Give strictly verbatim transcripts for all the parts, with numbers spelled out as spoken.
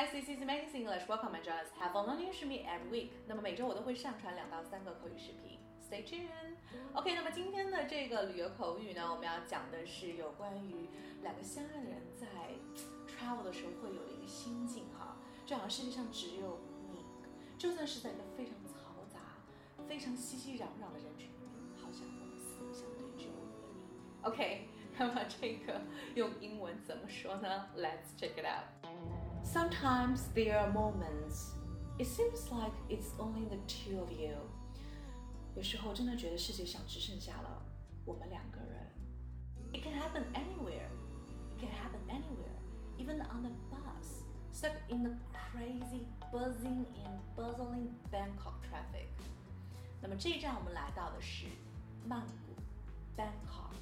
Guys, this is Amazing English. Welcome and join us. Have fun learning with me every week. 那么每周我都会上传两到三个口语视频。Stay tuned. OK， 那么今天的这个旅游口语呢，我们要讲的是有关于两个相爱的人在 travel 的时候会有的一个心境哈，就好像世界上只有你，就算是在一个非常嘈杂、非常熙熙攘攘的人群里面，好像我们四个相对只有我和你。OK， 那么这个用英文怎么说呢 ？Let's check it out.Sometimes there are moments it seems like it's only the two of you. 有时候真的觉得世界上只剩下了我们两个人。It can happen anywhere. It can happen anywhere, even on the bus, stuck in the crazy, buzzing and bustling Bangkok traffic. 那么这一站我们来到的是曼谷 Bangkok,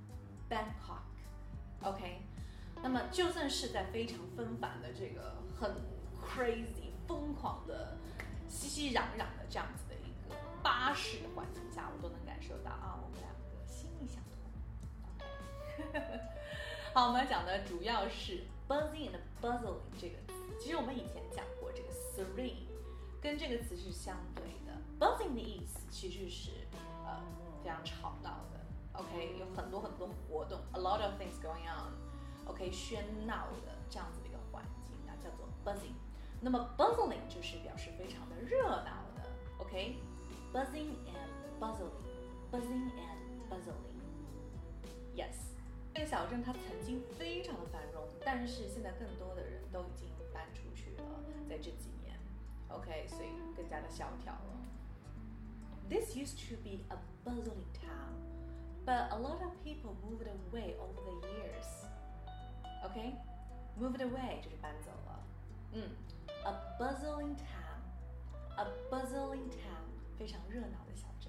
Bangkok. OK.那么就算是在非常纷繁的这个很 crazy 疯狂的熙熙攘攘的这样子的一个巴士的环境下，我都能感受到啊，我们两个心意相通。OK， 好，我们讲的主要是 buzzing and bustling 这个词。其实我们以前讲过，这个 serene 跟这个词是相对的。buzzing 的意思其实是呃非常吵闹的。OK， 有很多很多活动 ，a lot of things going on。OK， 喧闹的这样子的一个环境啊，叫做 buzzing。那么 bustling 就是表示非常的热闹的 ，OK？Buzzing and bustling，buzzing and bustling。Yes， 这个小镇它曾经非常的繁荣，但是现在更多的人都已经搬出去了，在这几年 ，OK， 所以更加的萧条了。This used to be a bustling town, but a lot of people moved away over the years.OK, moved away 就是搬走了。嗯 ，a bustling town, a bustling town 非常热闹的小镇。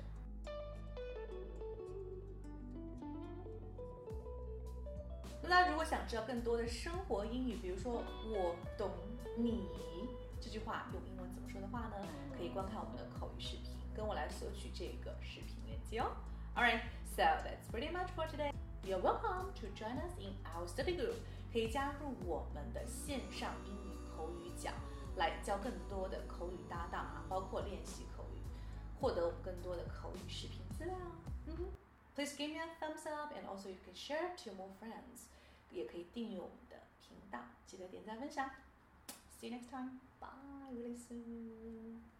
那大家如果想知道更多的生活英语，比如说我懂你这句话用英文怎么说的话呢？可以观看我们的口语视频，跟我来索取这个视频链接哦。Alright, so that's pretty much for today.You're welcome to join us in our study group. 可以加入我们的线上英语口语角，来教更多的口语搭档啊，包括练习口语，获得我们更多的口语视频资料。嗯哼 Please give me a thumbs up, and also you can share to more friends. 也可以订阅我们的频道，记得点赞分享。See you next time. Bye, really soon.